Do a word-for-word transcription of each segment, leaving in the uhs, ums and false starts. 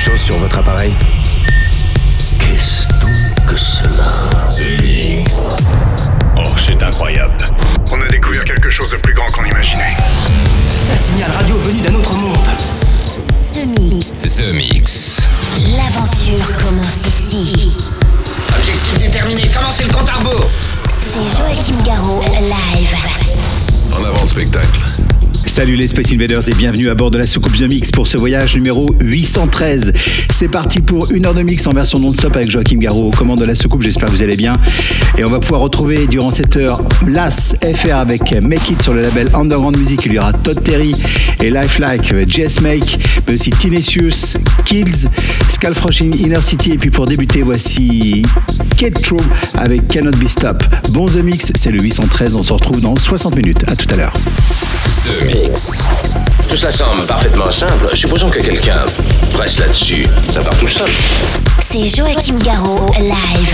chose sur votre appareil? Qu'est-ce donc que cela? The Mix. Oh, c'est incroyable. On a découvert quelque chose de plus grand qu'on imaginait. Un signal radio venu d'un autre monde. The Mix. The Mix. L'aventure commence ici. Objectif déterminé, commencez le compte à rebours. C'est Joachim Garraud, live. En avant le spectacle. Salut les Space Invaders et bienvenue à bord de la soucoupe The Mix pour ce voyage numéro huit cent treize. C'est parti pour une heure de mix en version non-stop avec Joachim Garraud aux commandes de la soucoupe, j'espère que vous allez bien. Et on va pouvoir retrouver durant cette heure Las F R avec Make It sur le label Underground Music. Il y aura Todd Terry et Lifelike, Jess Make, mais aussi Tinesius, Kills, Skullfrosh in Inner City. Et puis pour débuter, voici Kate True avec Cannot Be Stop. Bon The Mix, c'est le huit cent treize, on se retrouve dans soixante minutes. À tout à l'heure. The Mix. Tout cela semble parfaitement simple. Supposons que quelqu'un presse là-dessus. Ça part tout seul. C'est Joachim Garraud, live.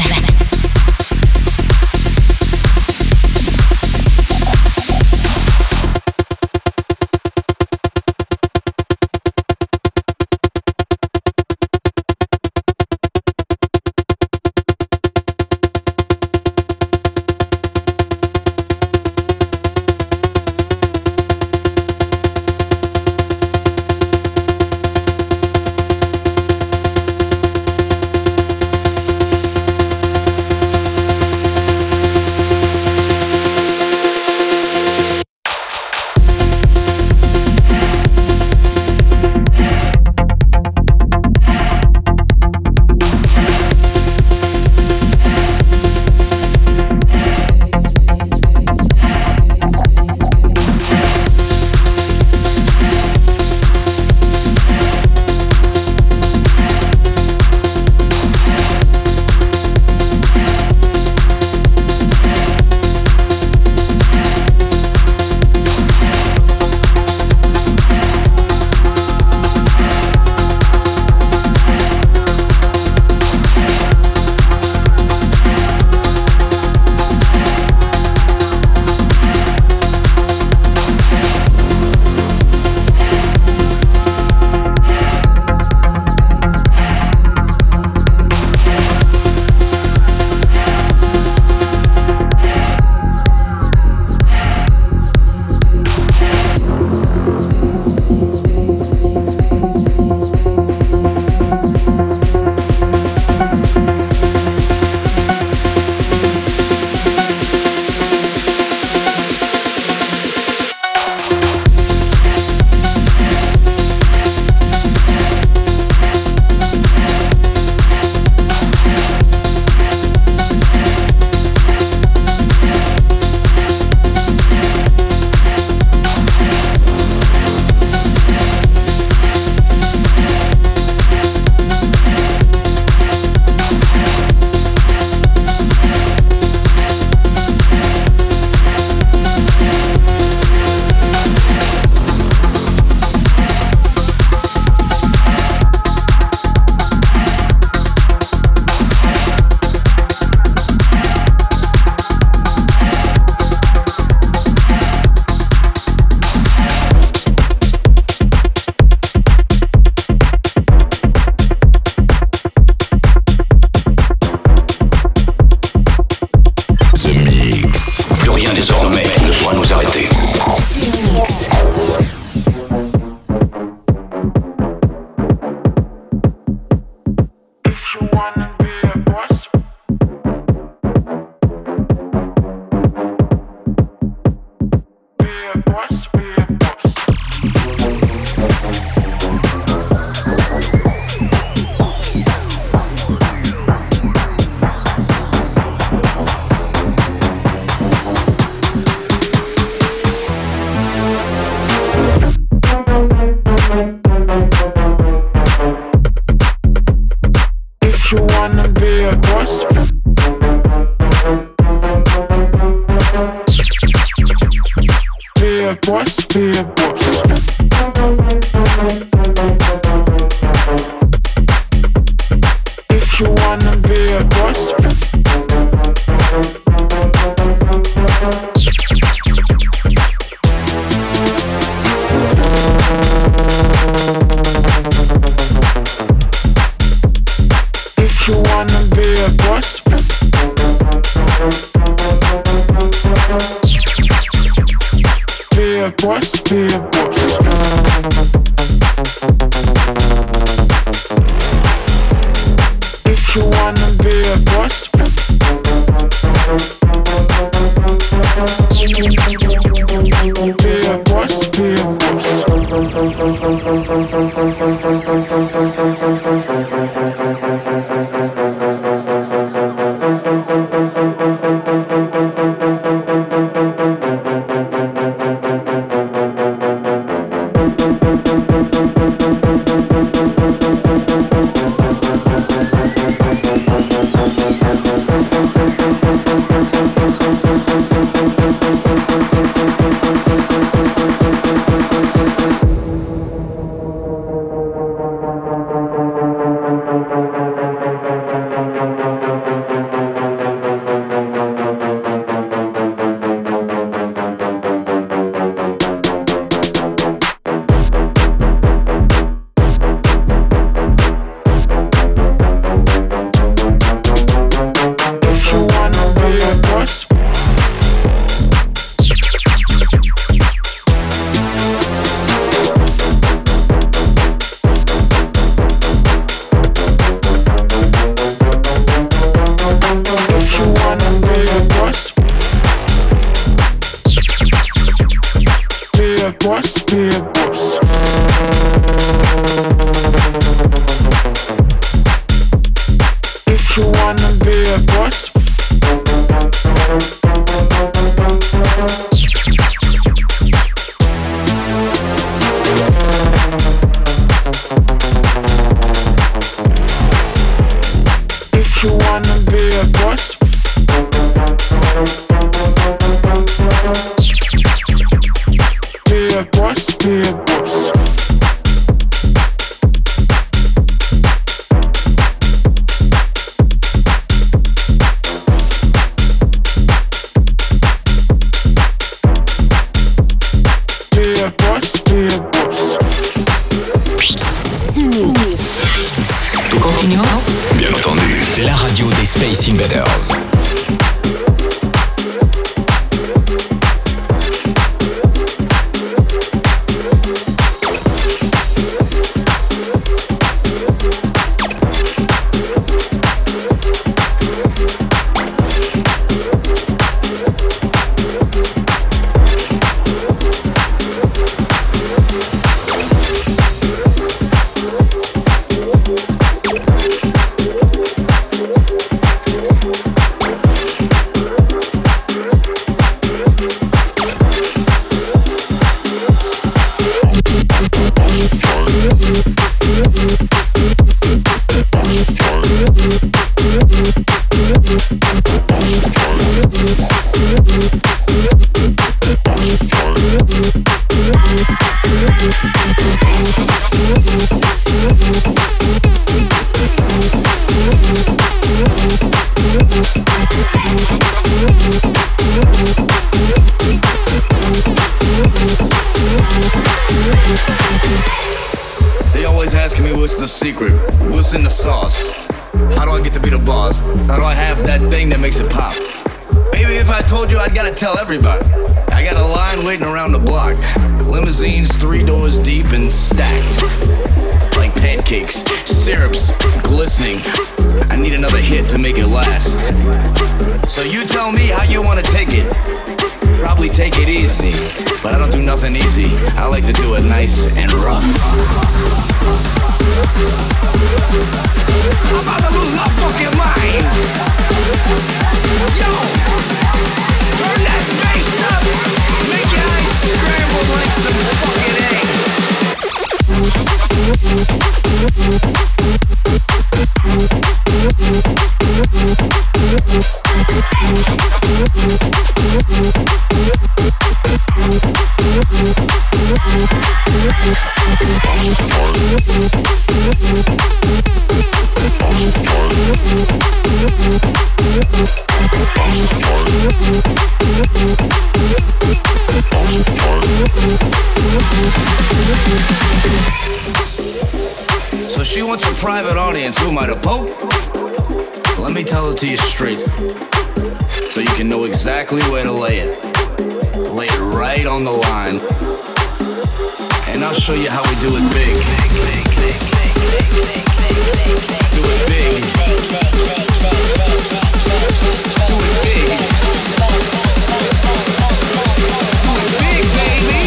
a boss, be a boss. If you wanna be a boss, be a boss, be a boss. Tell everybody. I got a line waiting around the block. Limousines three doors deep and stacked. Like pancakes, syrups, glistening. I need another hit to make it last. So you tell me how you want to take it. Probably take it easy, but I don't do nothing easy. I like to do it nice and rough. I'm about to lose my fucking mind. Yo! Turn that bass up! Make your eyes scramble like some fucking eggs! So she wants a private audience. Who am I, the Pope? Let me tell it to you straight, so you can know exactly where to lay it. Lay it right on on the line. And I'll show you how we do it big. Do it big. Do it big. Do it big, baby.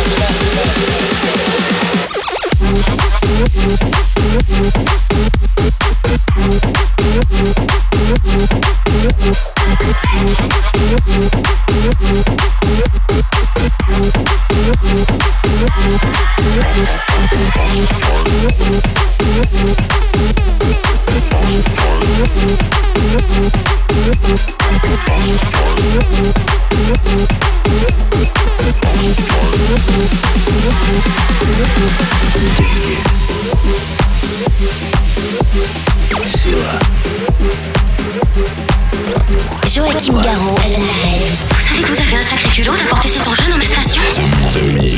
Joachim Garraud, live. Vous savez que vous avez un sacré culot d'apporter cet engin dans ma station? The Mix.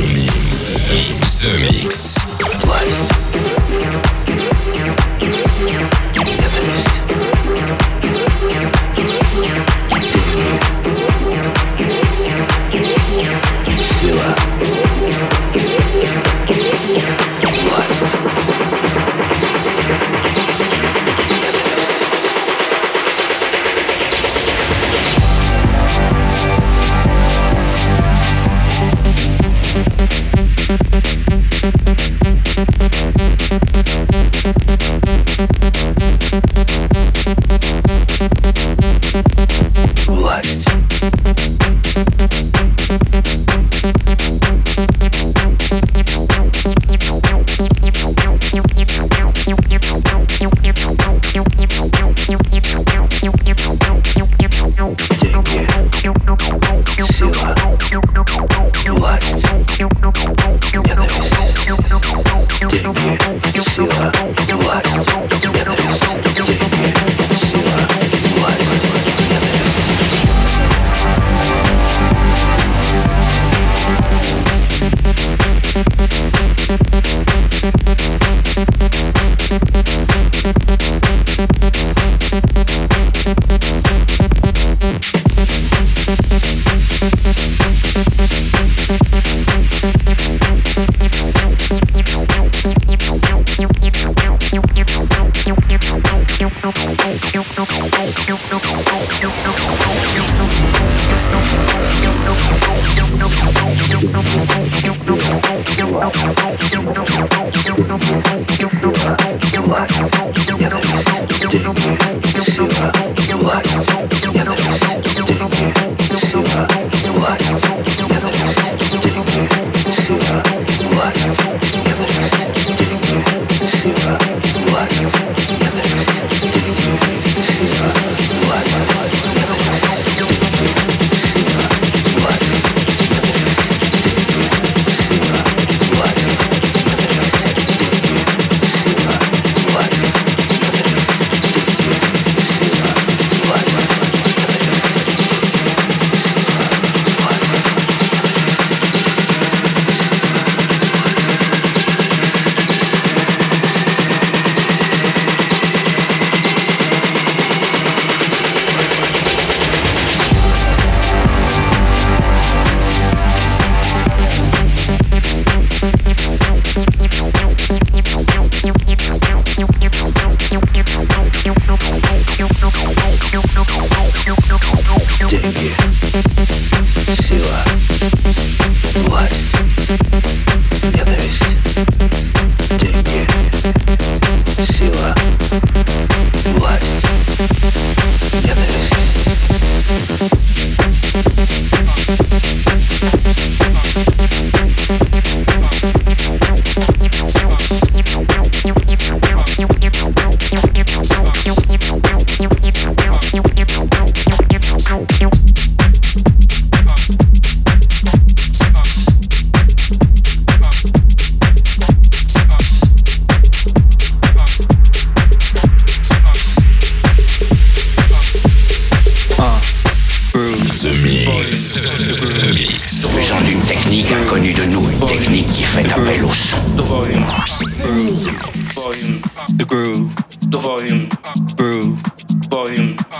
The Mix.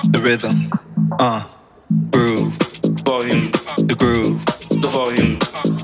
Uh, groove, volume, the groove, the volume,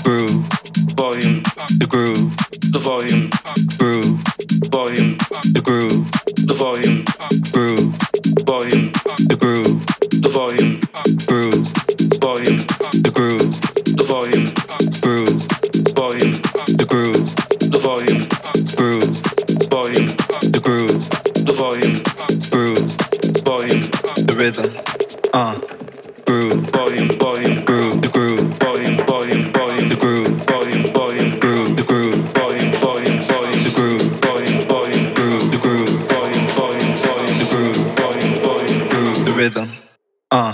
groove, volume, the groove, the volume, groove, volume, the groove, the volume, groove, volume, the groove, the volume, groove, volume, the groove, the volume, groove, volume, the groove, the volume, groove, volume, the groove, the volume, groove, volume, the rhythm, uh, groove, volume, volume, groove, the groove, volume, volume, volume, the groove, volume, volume, groove, the groove, volume, volume, volume, the groove, volume, volume, groove, the groove, volume, volume, volume, the groove, volume, volume, groove, the rhythm, uh.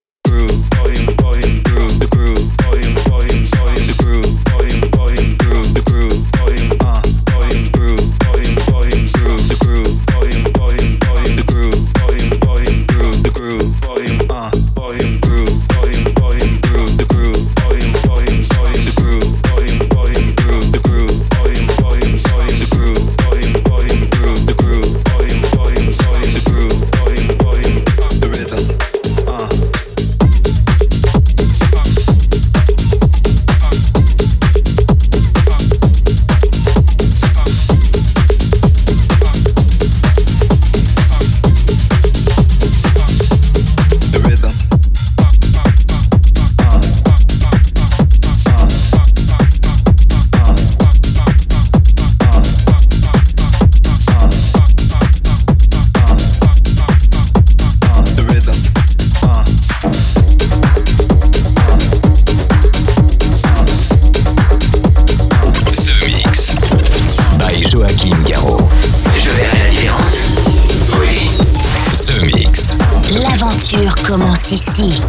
Commence ici.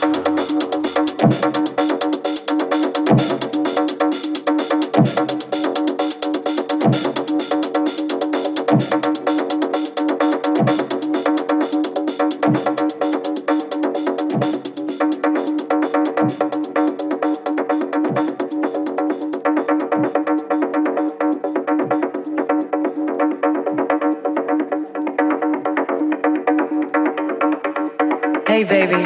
Hey, baby.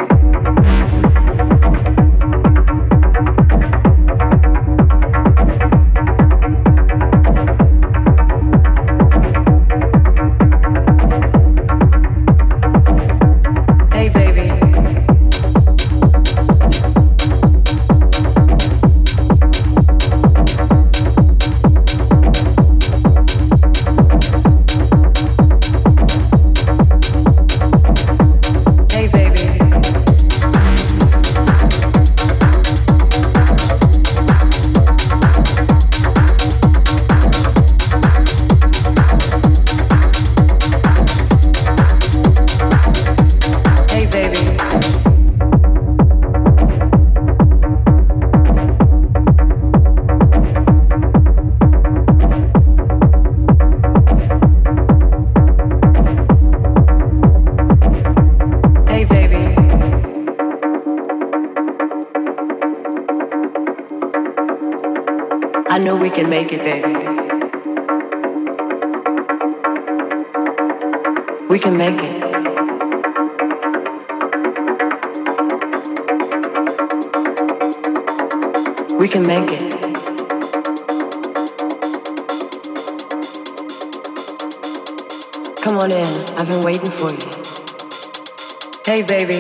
I know we can make it, baby. We can make it. We can make it. Come on in, I've been waiting for you. Hey, baby.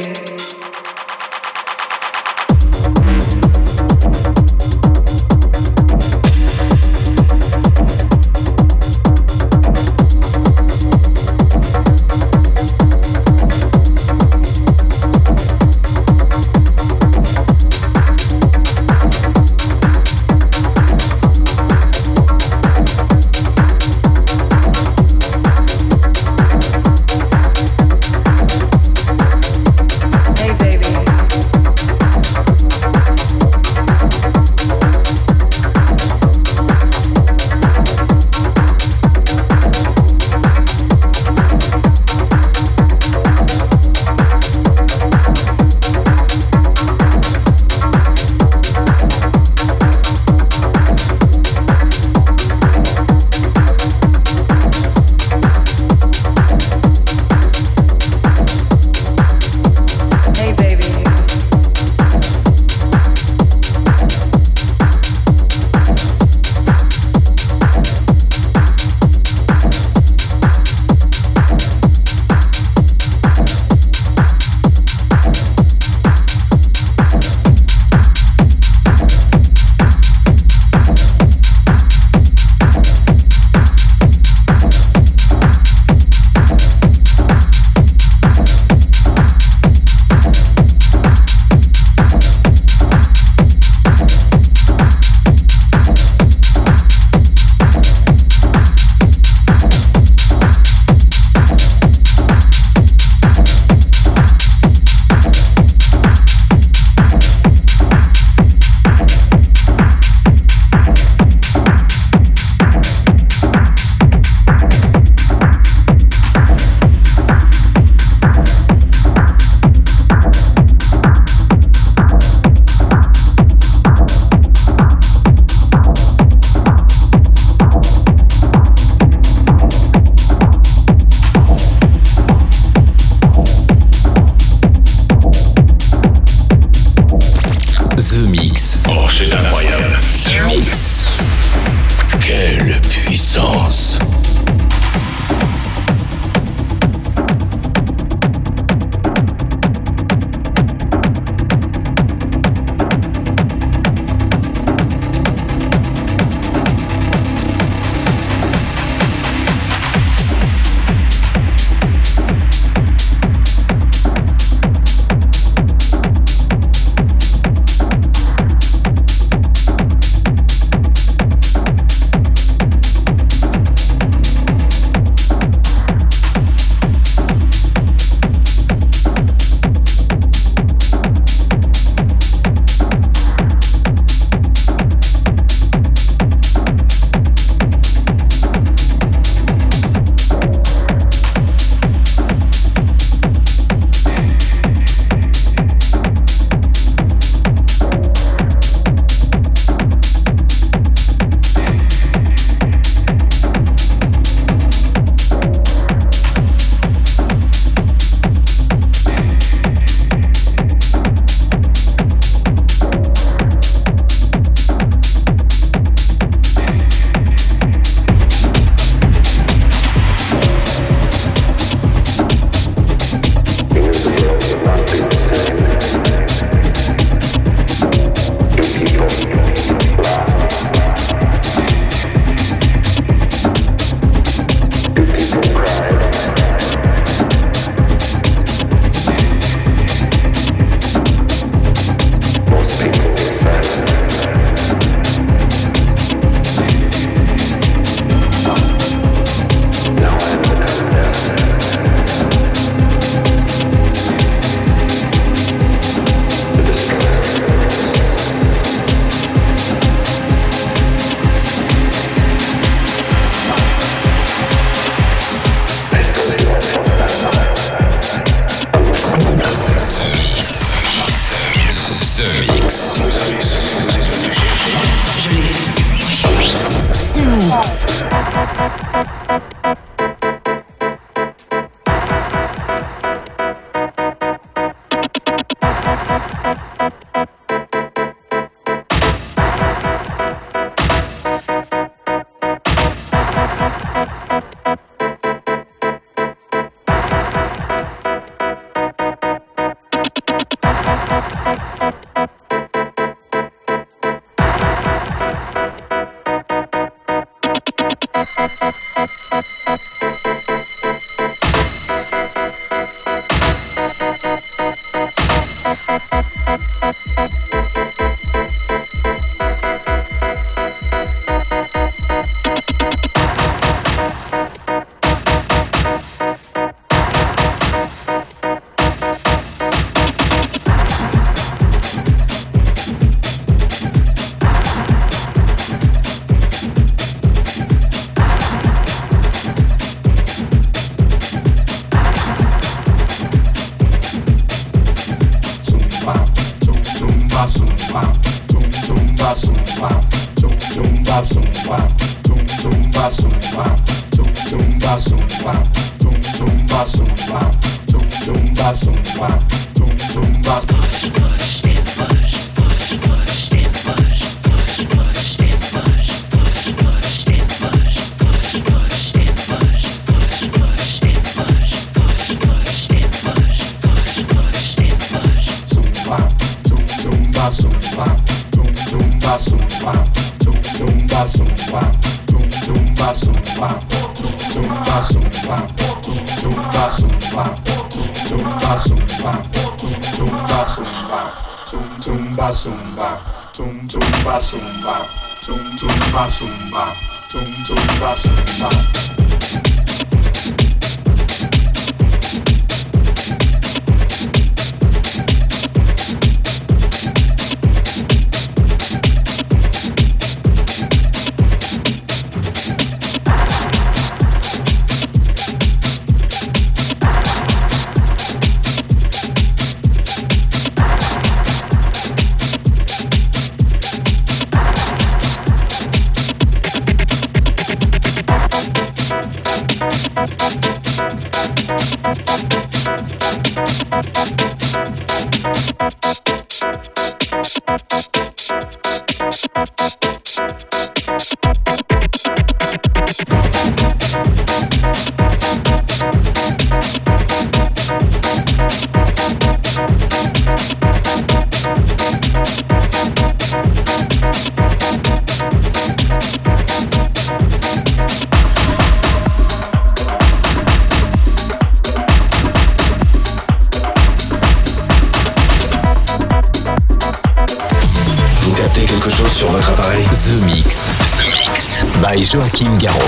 Quelque chose sur votre appareil. The Mix. The Mix. By Joachim Garraud.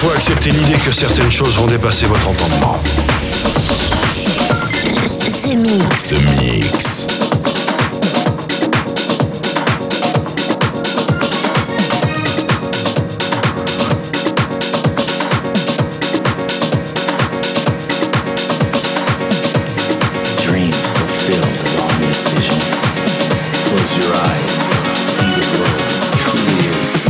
fois accepter l'idée que certaines choses vont dépasser votre entendement. The Mix. The Mix. Close your eyes, see the world as it truly is.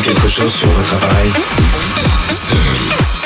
quelque chose sur votre appareil? The Mix.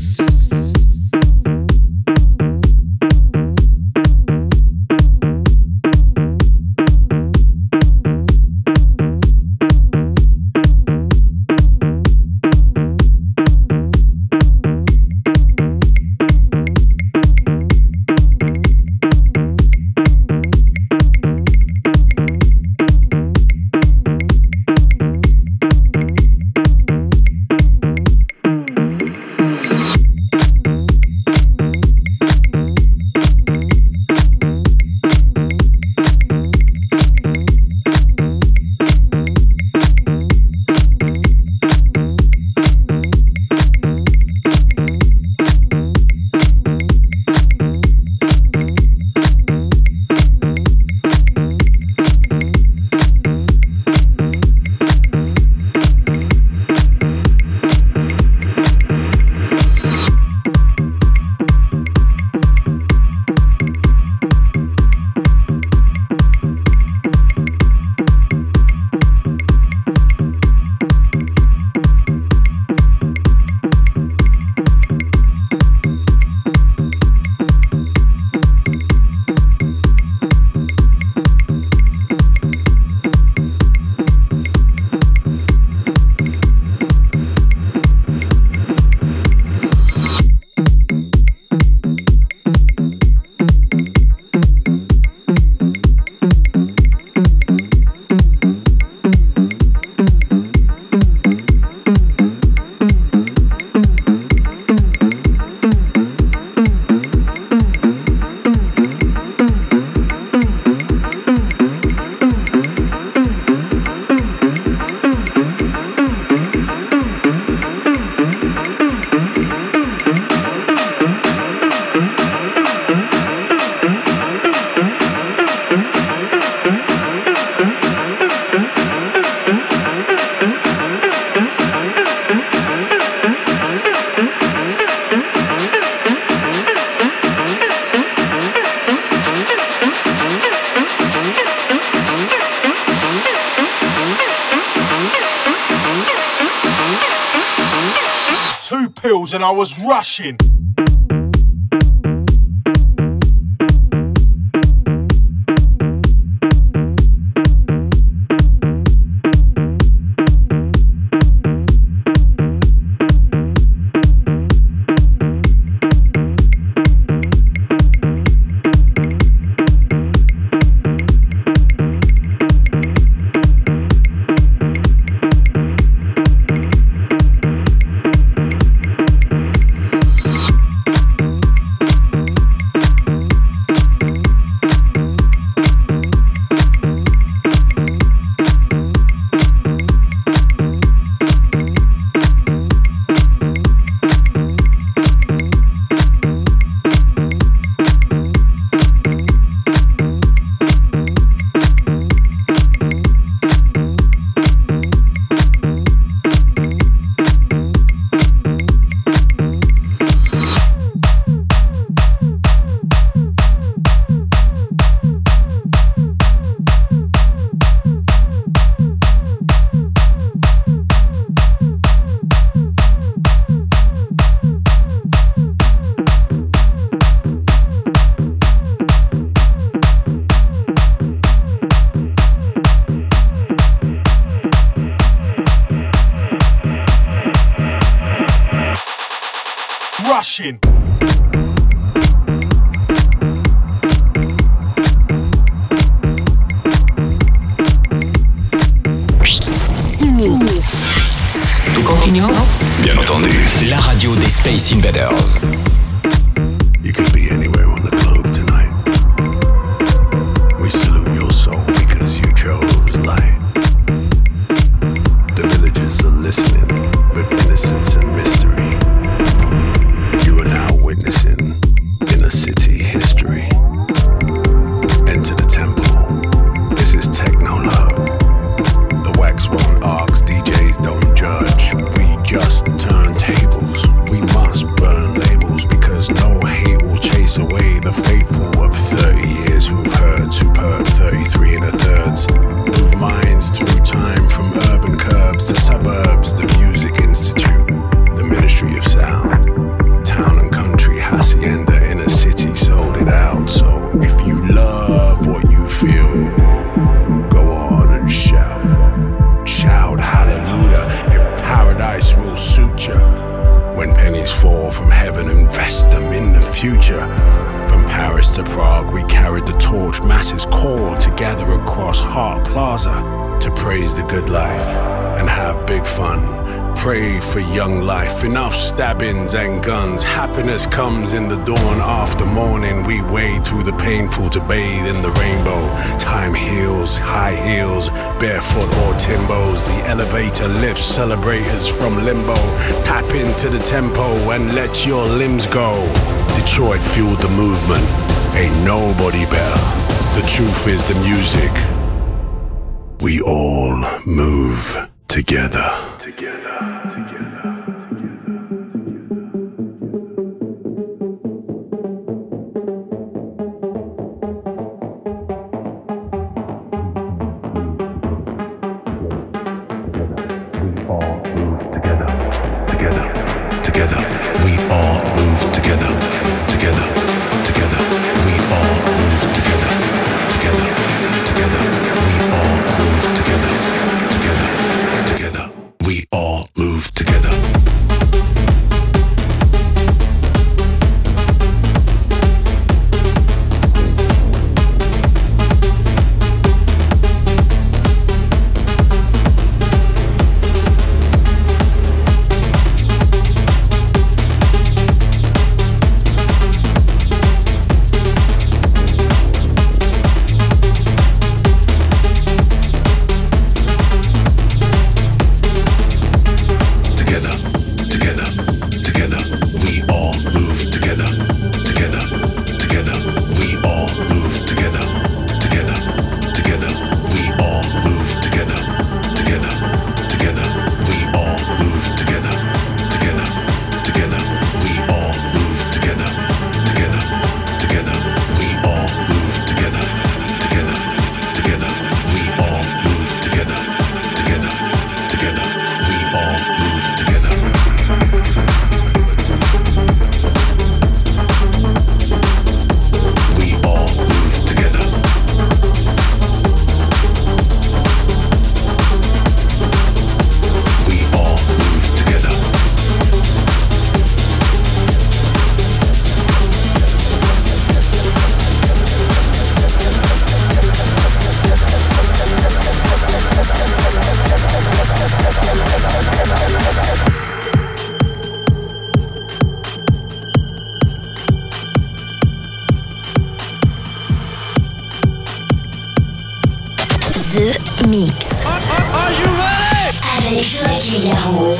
And I was rushing. Rushing. Tout continue? Bien entendu. La radio des Space Invaders. You could be anywhere on the globe tonight. We salute your soul because you chose light. The villagers are listening with innocence and mystery. You are now witnessing inner city history. Enter the temple. This is techno love. The wax won't ask, D Js don't judge. We just turn tables. We must burn labels. to suburbs, the Music Institute, the Ministry of Sound. Town and country, hacienda, inner city, sold it out. So if you love what you feel, go on and shout. Shout hallelujah if paradise will suit you. When pennies fall from heaven, invest them in the future. From Paris to Prague, we carried the torch. Masses called to gather across Hart Plaza to praise the good life and have big fun. Pray for young life, enough stabbings and guns. Happiness comes in the dawn after morning. We wade through the painful to bathe in the rainbow. Time heals, high heels, barefoot or Timbos. The elevator lifts celebrators from limbo. Tap into the tempo and let your limbs go. Detroit fueled the movement, ain't nobody better. The truth is the music. We all move together. Together, together. The Mix. Are, are, are you ready? Avec Joachim Garraud.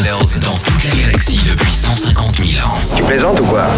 Masters dans toute la galaxie depuis cent cinquante mille ans. Tu plaisantes ou quoi?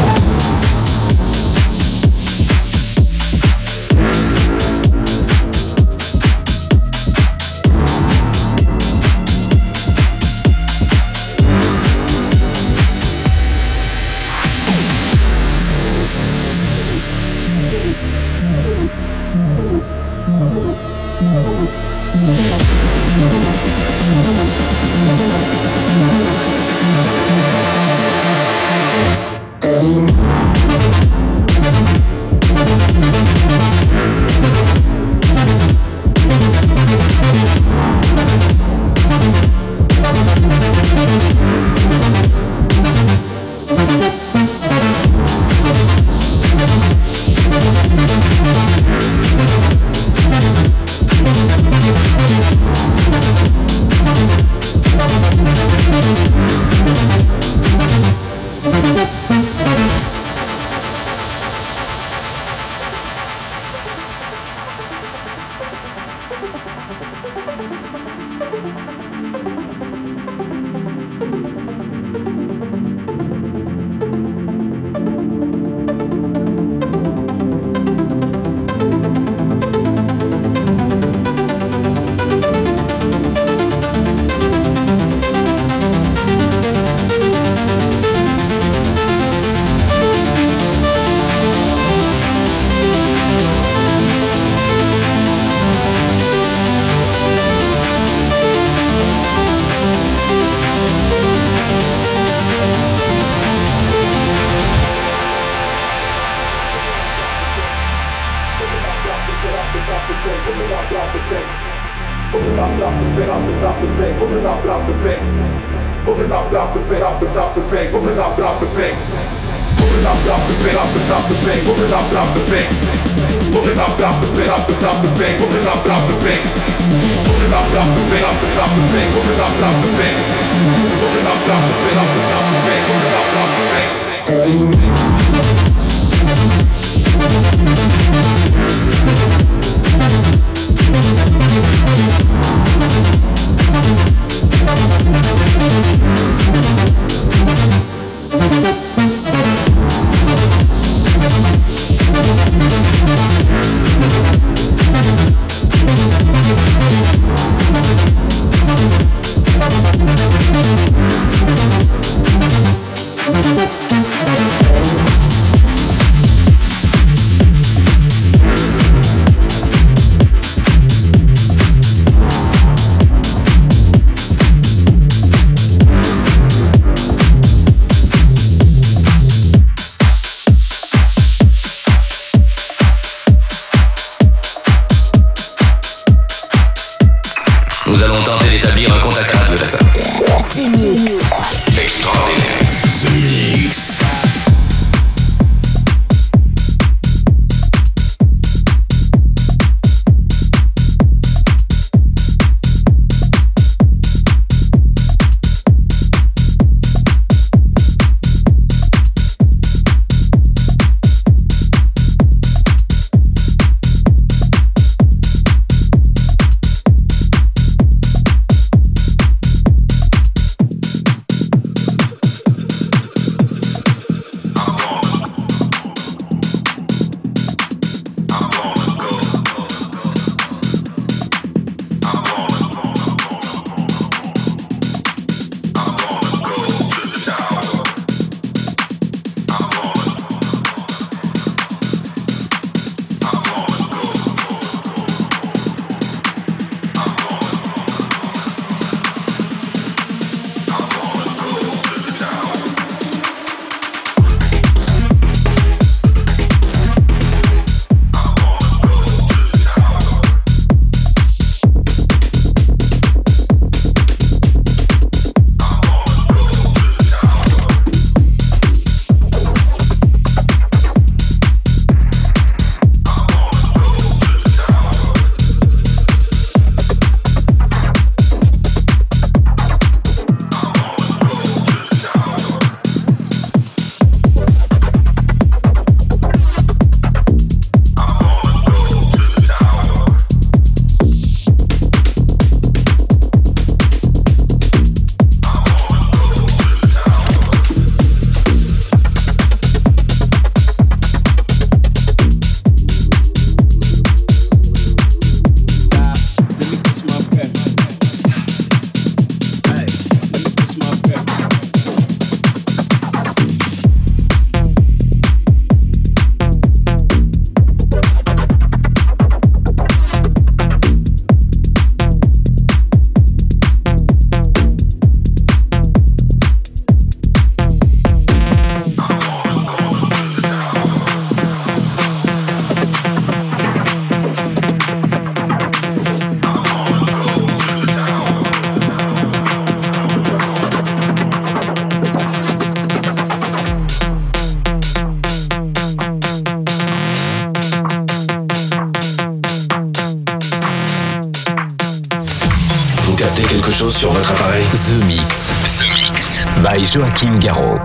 chose sur votre appareil? The Mix. The Mix. By Joachim Garraud.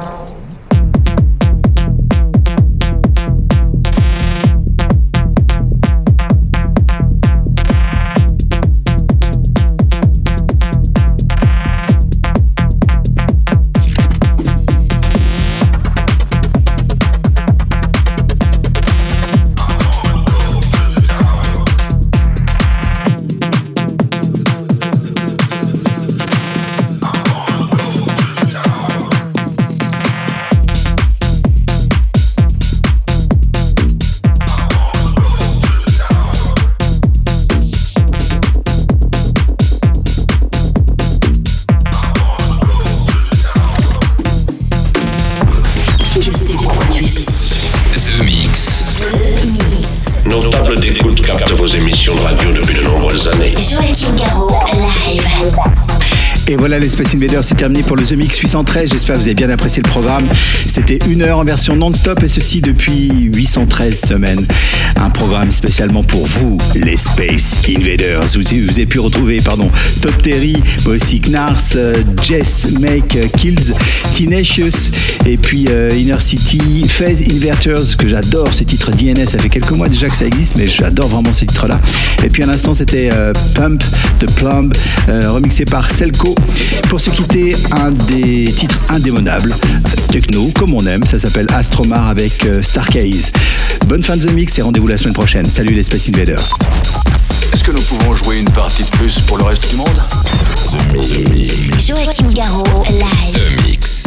Nos tables d'écoute captent vos émissions de radio depuis de nombreuses années. Joachim Garraud, live. Et voilà, les Space Invaders, c'est terminé pour le The Mix huit cent treize. J'espère que vous avez bien apprécié le programme. C'était une heure en version non-stop et ceci depuis huit cent treize semaines. Un programme spécialement pour vous, les Space Invaders. Vous, vous avez pu retrouver, pardon, Top Terry, mais aussi Knars, euh, Jess, Make, euh, Kills, Tenacious et puis euh, Inner City, Phase Inverters, que j'adore ce titre D N S. Ça fait quelques mois déjà que ça existe, mais j'adore vraiment ce titre-là. Et puis à l'instant, c'était euh, Pump de Plumb, euh, remixé par Selco. Pour se quitter, un des titres indémodables, techno, comme on aime, ça s'appelle Astromar avec euh, Stargaze. Bonne fin de The Mix et rendez-vous la semaine prochaine. Salut les Space Invaders. Est-ce que nous pouvons jouer une partie de plus pour le reste du monde? The Mix. Joachim Garraud, live. The Mix.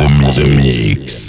The Mix. The Mix.